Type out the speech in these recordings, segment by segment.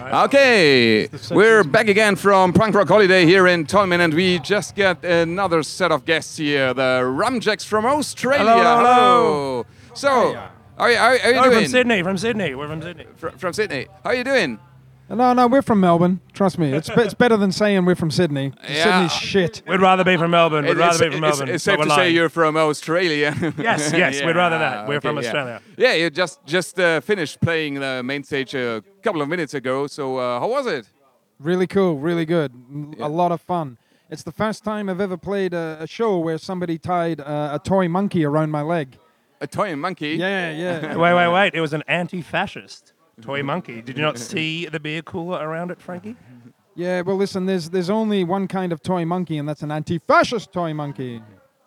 Okay, we're back again from Punk Rock Holiday here in Tolmin, and we just got another set of guests here, the Rumjacks from Australia. Hello. So, how are you doing? From Sydney. We're from Sydney. From Sydney. How are you doing? No, we're from Melbourne. Trust me, it's better than saying we're from Sydney. Yeah. Sydney's shit. We'd rather be from Melbourne. It's safe but to we're say lying. you're from Australia. Yes, we'd rather that. We're from Australia. Yeah, you just finished playing the main stage a couple of minutes ago. So how was it? Really cool, really good. A lot of fun. It's the first time I've ever played a show where somebody tied a toy monkey around my leg. A toy monkey? Yeah. Wait. It was an anti-fascist toy monkey. Did you not see the beer cooler around it, Frankie? Yeah, well, listen, there's only one kind of toy monkey, and that's an anti-fascist toy monkey.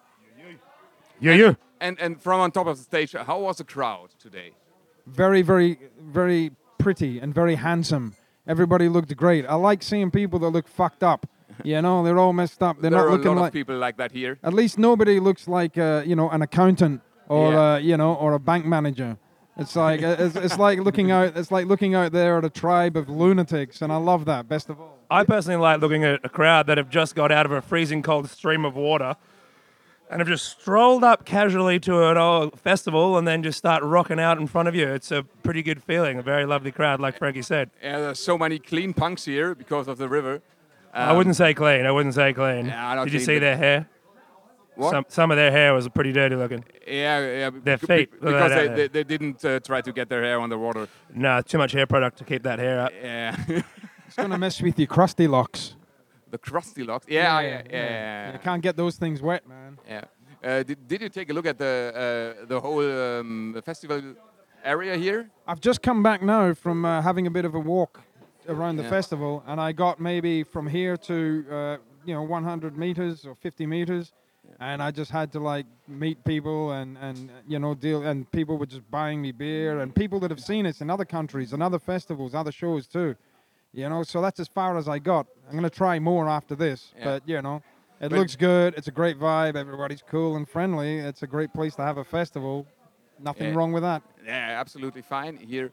Yeah. And from on top of the stage, how was the crowd today? Very, very, very pretty and very handsome. Everybody looked great. I like seeing people that look fucked up. You know, they're all messed up. They're There not are a looking lot like... of people like that here. At least nobody looks like, an accountant or, Yeah. or a bank manager. It's like it's like looking out. It's like looking out there at a tribe of lunatics, and I love that. Best of all. I personally like looking at a crowd that have just got out of a freezing cold stream of water and have just strolled up casually to an old festival and then just start rocking out in front of you. It's a pretty good feeling. A very lovely crowd, like Frankie said. Yeah, there's so many clean punks here because of the river. I wouldn't say clean. Yeah, not Did you clean, see but- their hair? What? Some of their hair was pretty dirty looking. Yeah. Their feet. Because Look at that. they didn't try to get their hair on the water. No, too much hair product to keep that hair up. Yeah. It's gonna mess with your crusty locks. The crusty locks. Yeah. You can't get those things wet, man. Yeah. Did you take a look at the whole festival area here? I've just come back now from having a bit of a walk around the Yeah. festival, and I got maybe from here to 100 meters or 50 meters. And I just had to like meet people and deal, and people were just buying me beer, and people that have seen us in other countries and other festivals, other shows too. So that's as far as I got. I'm gonna try more after this, Yeah. but it looks good. It's a great vibe. Everybody's cool and friendly. It's a great place to have a festival. Nothing Yeah. wrong with that. Yeah, absolutely fine here.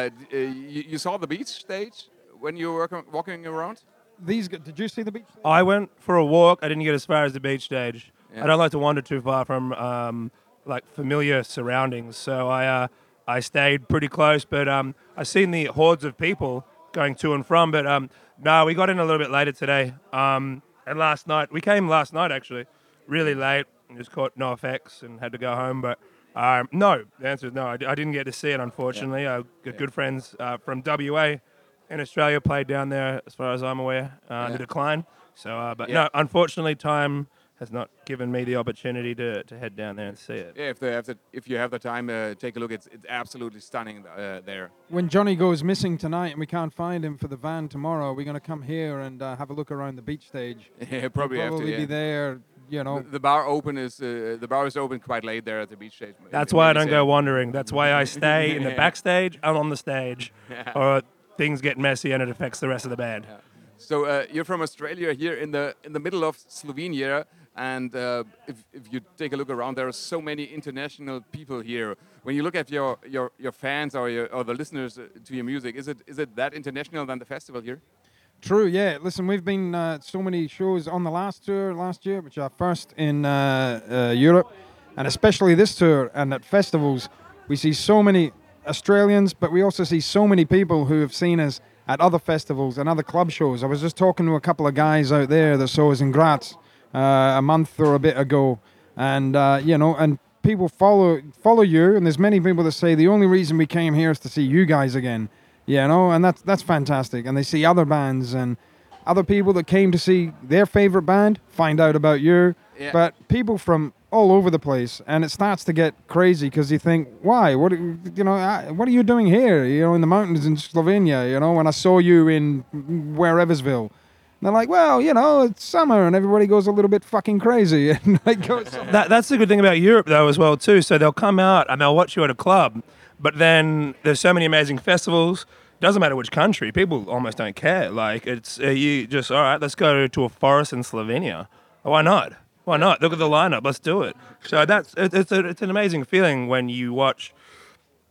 You saw the beach stage when you were walking around? Did you see the beach? I went for a walk. I didn't get as far as the beach stage. Yeah. I don't like to wander too far from familiar surroundings, so I stayed pretty close. But I seen the hordes of people going to and from. But no, we got in a little bit later today. And last night actually, really late. And just caught no effects and had to go home. But no, the answer is no. I didn't get to see it, unfortunately. Good friends from WA in Australia played down there, as far as I'm aware, the Decline. So, no, unfortunately, time has not given me the opportunity to head down there and see it. Yeah, if you have the time, take a look. It's absolutely stunning there. When Johnny goes missing tonight and we can't find him for the van tomorrow, we're going to come here and have a look around the beach stage. Yeah, probably have to. Probably Yeah. be there, The bar is open quite late there at the beach stage. That's why I don't go wandering. That's why I stay in the backstage and on the stage, or things get messy and it affects the rest of the band. Yeah. So you're from Australia here in the middle of Slovenia, and if you take a look around, there are so many international people here. When you look at your fans or the listeners to your music, is it that international than the festival here? True, yeah. Listen, we've been so many shows on the last tour last year, which are first in Europe, and especially this tour and at festivals. We see so many Australians, but we also see so many people who have seen us at other festivals and other club shows. I was just talking to a couple of guys out there that saw us in Graz a month or a bit ago, and and people follow you, and there's many people that say the only reason we came here is to see you guys again, and that's fantastic. And they see other bands and other people that came to see their favorite band find out about you, but people from all over the place, and it starts to get crazy because you think, why? What are you doing here? In the mountains in Slovenia. When I saw you in whereversville. And they're like, well, it's summer and everybody goes a little bit fucking crazy. And That's the good thing about Europe, though, as well, too. So they'll come out and they'll watch you at a club, but then there's so many amazing festivals. Doesn't matter which country. People almost don't care. Like, it's you just, all right, let's go to a forest in Slovenia. Why not? Why not? Look at the lineup. Let's do it. So it's an amazing feeling when you watch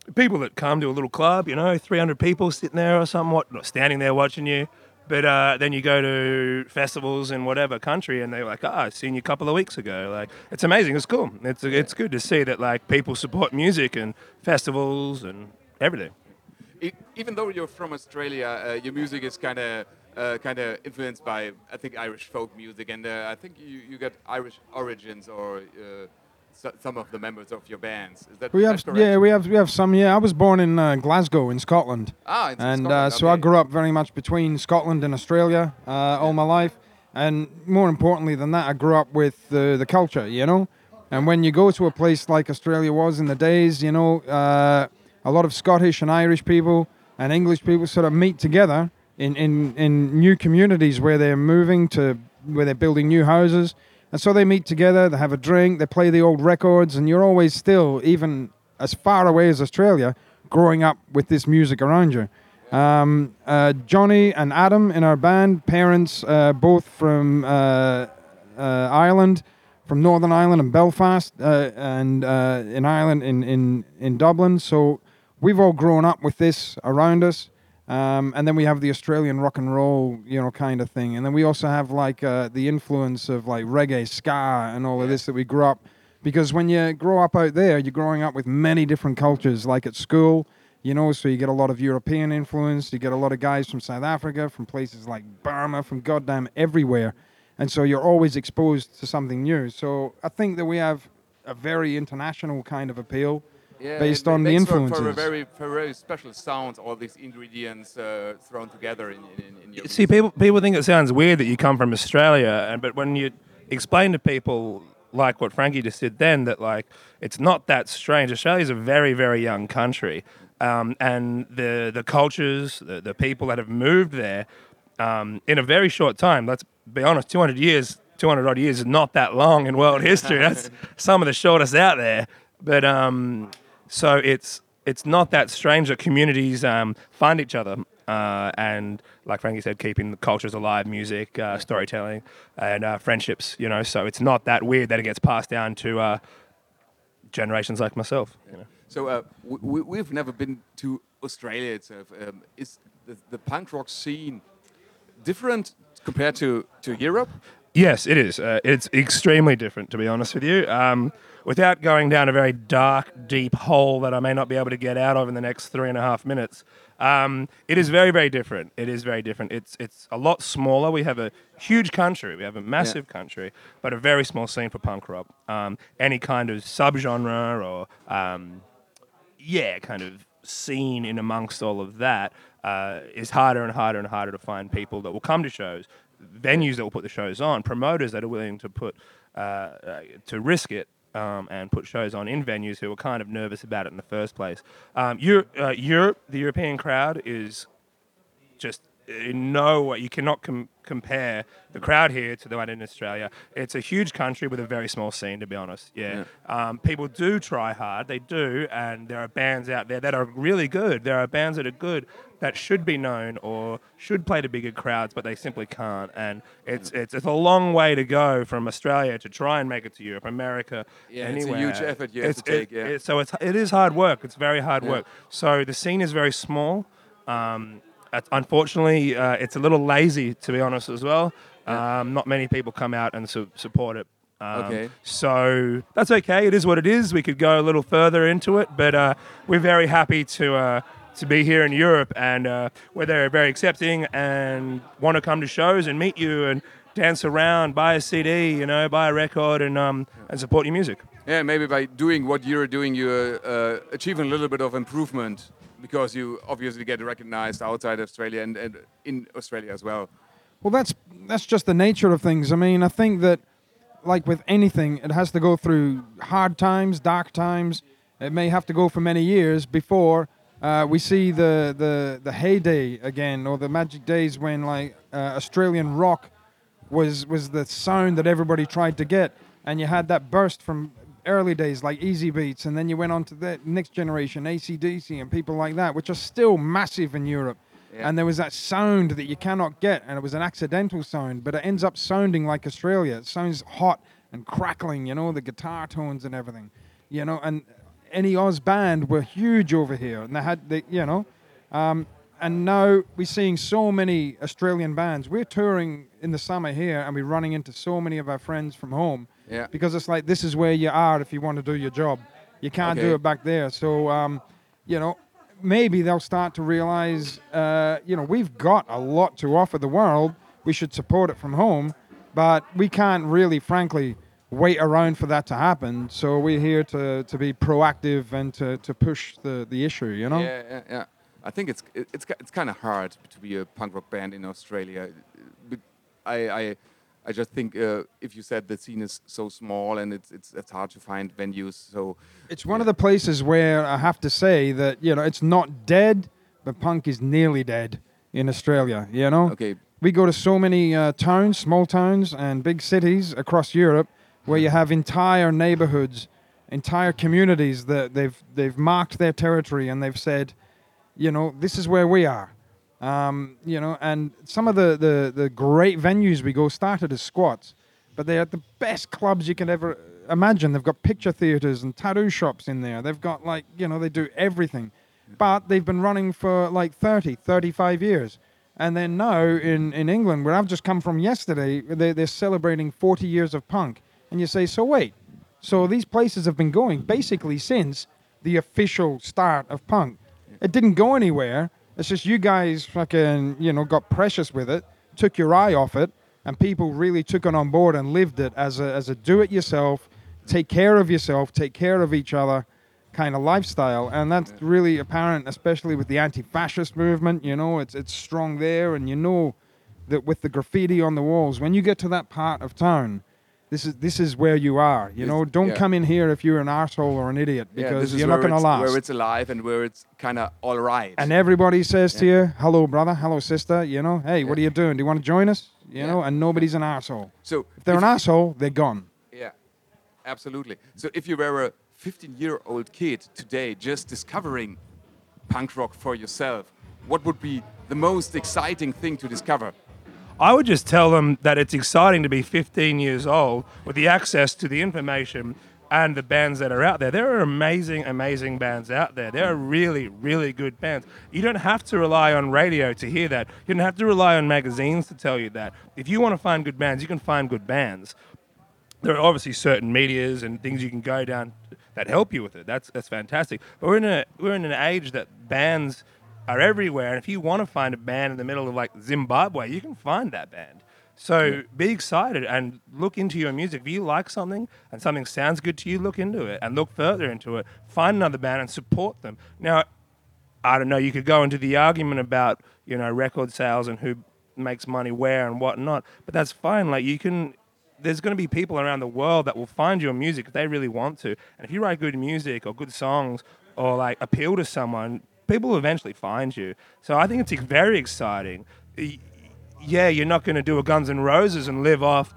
people that come to a little club, 300 people sitting there or something, standing there watching you. But then you go to festivals in whatever country, and they're like, I've seen you a couple of weeks ago. Like, it's amazing. It's cool. It's good to see that like people support music and festivals and everything. Even though you're from Australia, your music is kind of influenced by, I think, Irish folk music, and I think you got Irish origins, or some of the members of your bands. Is that correct? Yeah, we have some. Yeah, I was born in Glasgow in Scotland, It's in and Scotland, so I okay. grew up very much between Scotland and Australia all my life. And more importantly than that, I grew up with the culture, And when you go to a place like Australia was in the days, a lot of Scottish and Irish people and English people sort of meet together in new communities where they're moving to, where they're building new houses. And so they meet together, they have a drink, they play the old records, and you're always still, even as far away as Australia, growing up with this music around you. Johnny and Adam in our band, parents both from Ireland, from Northern Ireland and Belfast, and in Ireland, in Dublin. So we've all grown up with this around us. And then we have the Australian rock and roll, kind of thing. And then we also have like the influence of like reggae, ska, and all of this that we grew up. Because when you grow up out there, you're growing up with many different cultures, like at school, so you get a lot of European influence. You get a lot of guys from South Africa, from places like Burma, from goddamn everywhere. And so you're always exposed to something new. So I think that we have a very international kind of appeal. Based on the influences. For a very special sound, all these ingredients thrown together in your See, music. people think it sounds weird that you come from Australia, but when you explain to people, like what Frankie just did then, that like it's not that strange. Australia's a very, very young country, and the cultures, the people that have moved there in a very short time. Let's be honest, 200 odd years is not that long in world history. That's some of the shortest out there. But so it's not that strange that communities find each other and, like Frankie said, keeping the cultures alive, music, storytelling, and friendships. So it's not that weird that it gets passed down to generations like myself. So we've never been to Australia itself. Is the punk rock scene different compared to Europe? Yes, it is. It's extremely different, to be honest with you. Without going down a very dark, deep hole that I may not be able to get out of in the next 3.5 minutes, it is very, very different. It is very different. It's a lot smaller. We have a huge country. We have a massive country, but a very small scene for punk rock. Any kind of subgenre or, kind of scene in amongst all of that is harder and harder and harder to find people that will come to shows, venues that will put the shows on, promoters that are willing to put to risk it and put shows on in venues who are kind of nervous about it in the first place. Europe, the European crowd is just in no way, you cannot compare the crowd here to the one in Australia. It's a huge country with a very small scene, to be honest. People do try hard, they do, and there are bands out there that are really good. There are bands that are good that should be known or should play to bigger crowds, but they simply can't. And it's a long way to go from Australia to try and make it to Europe, America, anywhere. It's a huge effort you have to take. So it is hard work. It's very hard work. So the scene is very small. Unfortunately, it's a little lazy, to be honest, as well. Not many people come out and support it. So that's okay. It is what it is. We could go a little further into it, but we're very happy to be here in Europe, and where they're very accepting and want to come to shows and meet you and dance around, buy a CD, buy a record, and support your music. Yeah, maybe by doing what you're doing, you're achieving a little bit of improvement, because you obviously get recognized outside Australia and in Australia as well. Well, that's just the nature of things. I mean, I think that, like with anything, it has to go through hard times, dark times. It may have to go for many years before we see the heyday again, or the magic days when like Australian rock was the sound that everybody tried to get, and you had that burst from early days like Easy Beats, and then you went on to the next generation, AC/DC and people like that, which are still massive in Europe. And there was that sound that you cannot get, and it was an accidental sound, but it ends up sounding like Australia. It sounds hot and crackling, the guitar tones and everything, and any Oz band were huge over here, and and now we're seeing so many Australian bands. We're touring in the summer here, and we're running into so many of our friends from home. Yeah. Because it's like, this is where you are if you want to do your job. You can't do it back there. So, maybe they'll start to realize, we've got a lot to offer the world. We should support it from home, but we can't really, frankly, wait around for that to happen. So we're here to be proactive and to push the issue, Yeah. I think it's kind of hard to be a punk rock band in Australia. But I just think if you said the scene is so small and it's hard to find venues. So it's one of the places where I have to say that it's not dead, but punk is nearly dead in Australia. Okay. We go to so many towns, small towns, and big cities across Europe where you have entire neighborhoods, entire communities that they've marked their territory and they've said, this is where we are. And some of the great venues we go started as squats, but they're the best clubs you can ever imagine. They've got picture theaters and tattoo shops in there. They've got they do everything. But they've been running for 35 years. And then now in England, where I've just come from yesterday, they're celebrating 40 years of punk. And you say, so wait, so these places have been going basically since the official start of punk. It didn't go anywhere. It's just you guys fucking, got precious with it, took your eye off it, and people really took it on board and lived it as a do-it-yourself, take care of yourself, take care of each other kind of lifestyle. And that's really apparent, especially with the anti-fascist movement. It's strong there, and that with the graffiti on the walls, when you get to that part of town, this is where you are. Don't come in here if you're an arsehole or an idiot, because you're not going to last. Where it's alive and where it's kind of all right. And everybody says to you, hello, brother, hello, sister, hey, what are you doing? Do you want to join us? And nobody's an arsehole. So if they're an arsehole, they're gone. Yeah, absolutely. So if you were a 15-year-old kid today just discovering punk rock for yourself, what would be the most exciting thing to discover? I would just tell them that it's exciting to be 15 years old with the access to the information and the bands that are out there. There are amazing, amazing bands out there. There are really, really good bands. You don't have to rely on radio to hear that. You don't have to rely on magazines to tell you that. If you want to find good bands, you can find good bands. There are obviously certain medias and things you can go down that help you with it. That's fantastic. But we're in an age that bands are everywhere, and if you want to find a band in the middle of Zimbabwe, you can find that band. So be excited and look into your music. If you like something and something sounds good to you, look into it and look further into it. Find another band and support them. Now, I don't know, you could go into the argument about, record sales and who makes money where and whatnot, but that's fine. There's going to be people around the world that will find your music if they really want to. And if you write good music or good songs or appeal to someone, people will eventually find you. So I think it's very exciting. Yeah, you're not going to do a Guns N' Roses and live off,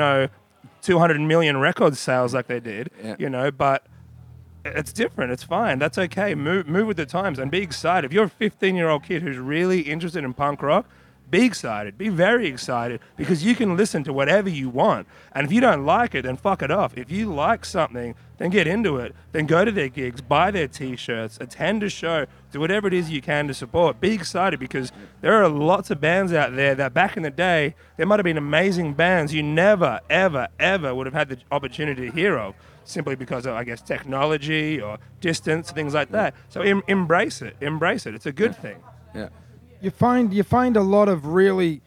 200 million record sales like they did, but it's different. It's fine. That's okay. Move with the times and be excited. If you're a 15-year-old kid who's really interested in punk rock, be excited. Be very excited, because you can listen to whatever you want. And if you don't like it, then fuck it off. If you like something, then get into it. Then go to their gigs, buy their T-shirts, attend a show, do whatever it is you can to support. Be excited, because there are lots of bands out there that back in the day, there might have been amazing bands you never, ever, ever would have had the opportunity to hear of, simply because of, I guess, technology or distance, things like that. So embrace it. Embrace it. It's a good thing. Yeah. You find a lot of really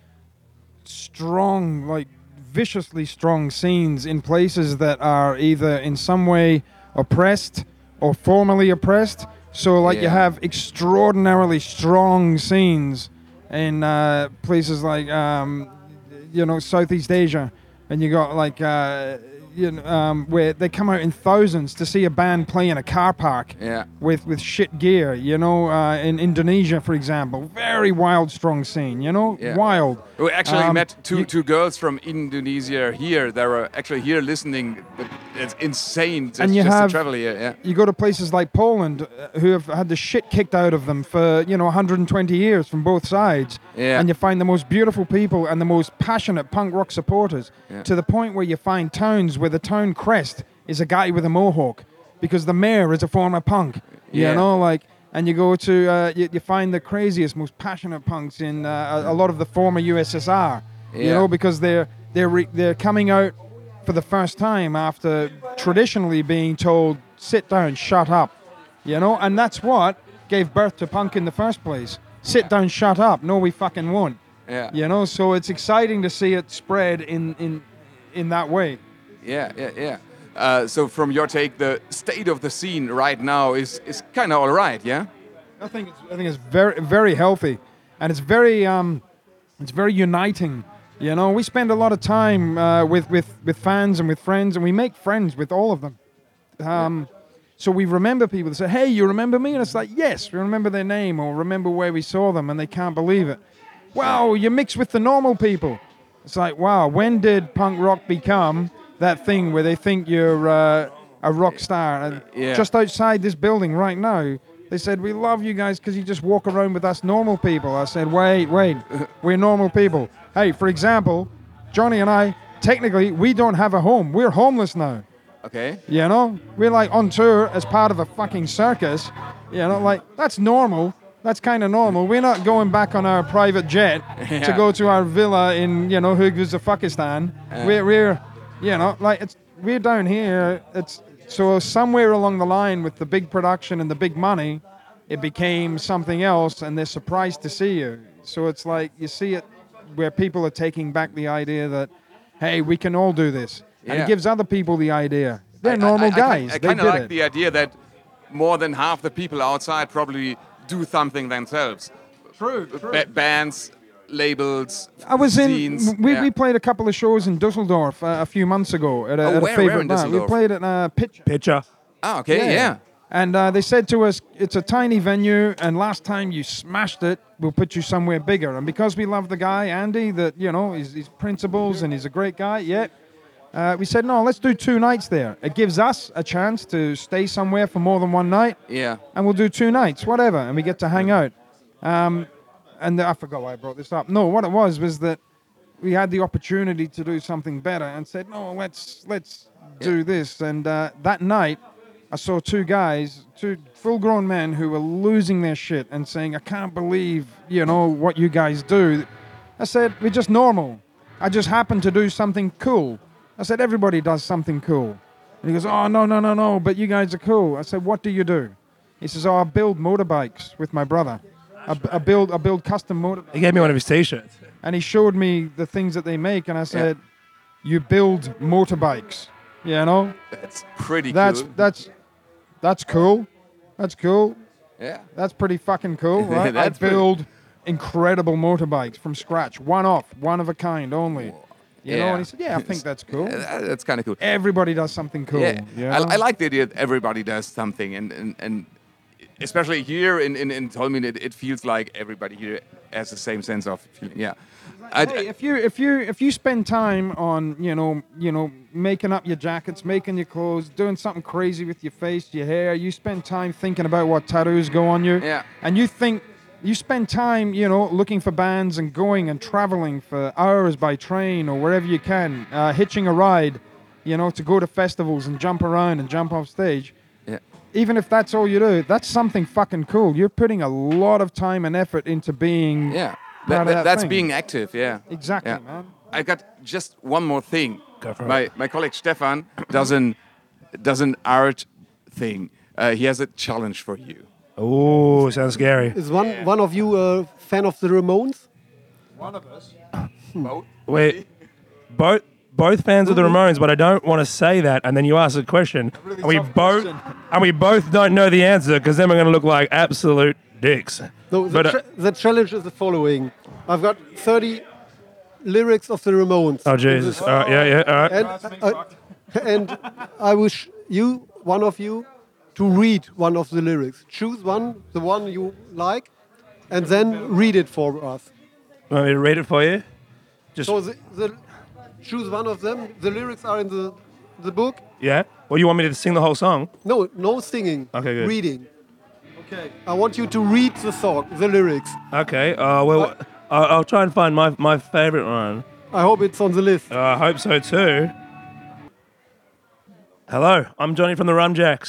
strong, viciously strong scenes in places that are either in some way oppressed or formerly oppressed. So you have extraordinarily strong scenes in places like Southeast Asia, and you got where they come out in thousands to see a band play in a car park with shit gear, in Indonesia, for example. Very wild, strong scene, wild. We actually met two girls from Indonesia here. They were actually here listening. It's insane just to travel here. You go to places like Poland, who have had the shit kicked out of them for, 120 years from both sides. Yeah. And you find the most beautiful people and the most passionate punk rock supporters, to the point where you find towns where the town crest is a guy with a mohawk. because the mayor is a former punk. Yeah. You know, like, and you go to you find the craziest, most passionate punks in a lot of the former USSR. You Yeah. know, because they're coming out for the first time after traditionally being told, sit down, shut up. You know, and that's what gave birth to punk in the first place. Sit down, shut up. No, we fucking won't. Yeah. You know, so it's exciting to see it spread in that way. Yeah. So from your take, the state of the scene right now is kind of all right, yeah? I think it's very, very healthy, and it's very uniting. You know, we spend a lot of time with fans and with friends, and we make friends with all of them. So we remember people that say, "Hey, you remember me?" And it's like, yes, we remember their name or remember where we saw them, and they can't believe it. Wow, you mix with the normal people. It's like, wow, when did punk rock become that thing where they think you're a rock star? And Yeah. just outside this building right now, they said, "We love you guys because you just walk around with us normal people." I said, wait, we're normal people. Hey, for example, Johnny and I, technically, we don't have a home. We're homeless now. Okay. You know, we're like on tour as part of a fucking circus. You know, like that's normal. That's kind of normal. We're not going back on our private jet to Yeah. go to our villa in, you know, Uzbekistan. We're, you know, like we're down here. It's so somewhere along the line with the big production and the big money, it became something else, and they're surprised to see you. So it's like you see it where people are taking back the idea that, hey, we can all do this. And Yeah. it gives other people the idea. They're normal guys. I They kind of did like it. the idea that more than half the people outside probably do something themselves. True. Bands, labels, I was scenes. we played a couple of shows in Dusseldorf a few months ago at a where favorite in night. We Düsseldorf? played at Pitch. Pitcher. Ah, okay, yeah. And they said to us, it's a tiny venue, and last time you smashed it, we'll put you somewhere bigger. And because we love the guy, Andy, that, you know, his principles, and he's a great guy, we said, no, let's do 2 nights there. It gives us a chance to stay somewhere for more than one night, Yeah. and we'll do 2 nights, whatever, and we get to hang out. And I forgot why I brought this up. No, what it was that we had the opportunity to do something better and said, no, let's do this. And that night, I saw 2 guys, 2 full-grown men who were losing their shit and saying, I can't believe, you know, what you guys do. I said, we're just normal. I just happen to do something cool. I said, everybody does something cool. And he goes, oh, no, but you guys are cool. I said, what do you do? He says, oh, I build motorbikes with my brother. I build custom motorbikes. He gave me one of his T-shirts. And he showed me the things that they make, and I said, you build motorbikes, you know? That's pretty That's cool. that's cool. That's cool. Yeah. That's pretty fucking cool, right? That's I pretty- build incredible motorbikes from scratch, one of a kind only. You know, Yeah. and he said, yeah, I think that's cool. That's kind of cool. Everybody does something cool. Yeah, you know? I like the idea that everybody does something, and especially here in Tolmin, it feels like everybody here has the same sense of feeling. Yeah, Hey, if you spend time on you know making up your jackets, making your clothes, doing something crazy with your face, your hair, you spend time thinking about what tattoos go on you, Yeah. and you spend time looking for bands and going and traveling for hours by train or wherever you can, hitching a ride, to go to festivals and jump around and jump off stage. yeah, Even if that's all you do, that's something fucking cool. You're putting a lot of time and effort into being yeah. part of that That's thing. being active. Yeah, Exactly, Yeah. man. I got just one more thing. Go for it. My colleague Stefan does an art thing. He has a challenge for you. Oh, sounds scary. Is one of you a fan of the Ramones? Wait, both fans of the Ramones, but I don't want to say that. And then you ask a question, and we both don't know the answer, because then we're going to look like absolute dicks. No, the challenge is the following. I've got 30 lyrics of the Ramones. Oh Jesus! All right, yeah, all right. And I wish one of you, to read one of the lyrics. Choose the one you like, and then read it for us. Want me to read it for you? Just So choose one of them. The lyrics are in the book. yeah. Well, you want me to sing the whole song? No singing. Okay, good. Reading. Okay. I want you to read the lyrics. Okay. Well, I'll try and find my favorite one. I hope it's on the list. I hope so too. Hello, I'm Johnny from the Rumjacks.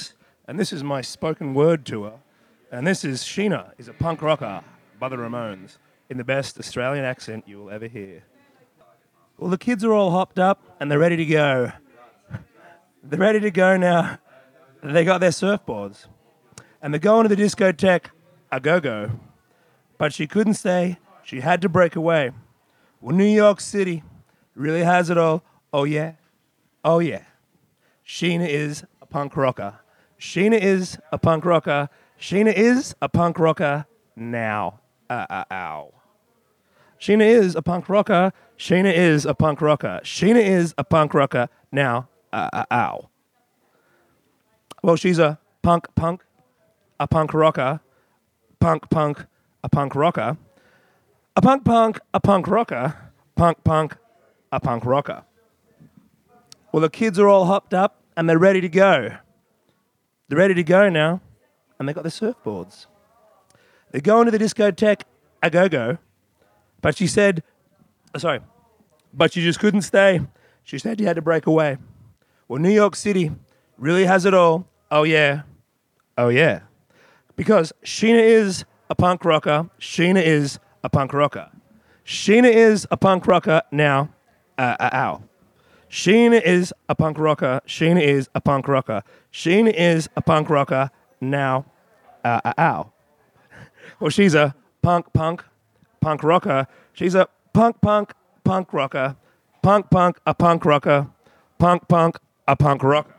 and this is my spoken word tour. And this is Sheena is a punk rocker by the Ramones in the best Australian accent you will ever hear. Well, the kids are all hopped up and they're ready to go. They're ready to go now. They got their surfboards. And they're going to the discotheque a go-go. But she couldn't stay. She had to break away. Well, New York City really has it all. Oh, yeah. Oh, yeah. Sheena is a punk rocker. Sheena is a punk rocker. Sheena is a punk rocker now. Ow. Sheena is a punk rocker. Sheena is a punk rocker. Sheena is a punk rocker now. Ow. Well, she's a punk, a punk rocker, punk, a punk rocker, a punk, a punk rocker, punk, a punk rocker. Well, the kids are all hopped up and they're ready to go. They're ready to go now, and they got their surfboards. They're going to the discotheque a go-go, but she said, but she just couldn't stay. She said you had to break away. Well, New York City really has it all. Oh, yeah. Oh, yeah. Because Sheena is a punk rocker. Sheena is a punk rocker. Sheena is a punk rocker now. Ow. Sheena is a punk rocker. Sheena is a punk rocker. Sheena is a punk rocker now. Ow. Well, she's a punk rocker. She's a punk rocker. Punk, a punk rocker. Punk, a punk rocker.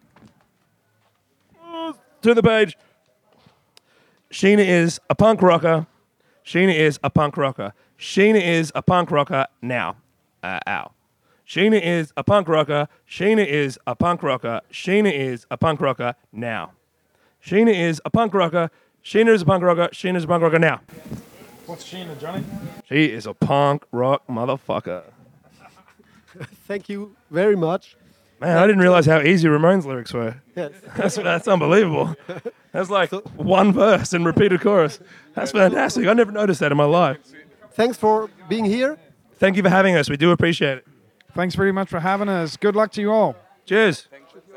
To the page. Sheena is a punk rocker. Sheena is a punk rocker. Sheena is a punk rocker now. Ow. Sheena is a punk rocker. Sheena is a punk rocker. Sheena is a punk rocker now. Sheena is a punk rocker. Sheena is a punk rocker. Sheena is a punk rocker now. What's Sheena, Johnny? She is a punk rock motherfucker. Thank you very much. Man, I didn't realize how easy Ramones lyrics were. Yes. That's unbelievable. That's like one verse and repeated chorus. That's fantastic. I never noticed that in my life. Thanks for being here. Thank you for having us. We do appreciate it. Thanks very much for having us. Good luck to you all. Cheers. Thank you.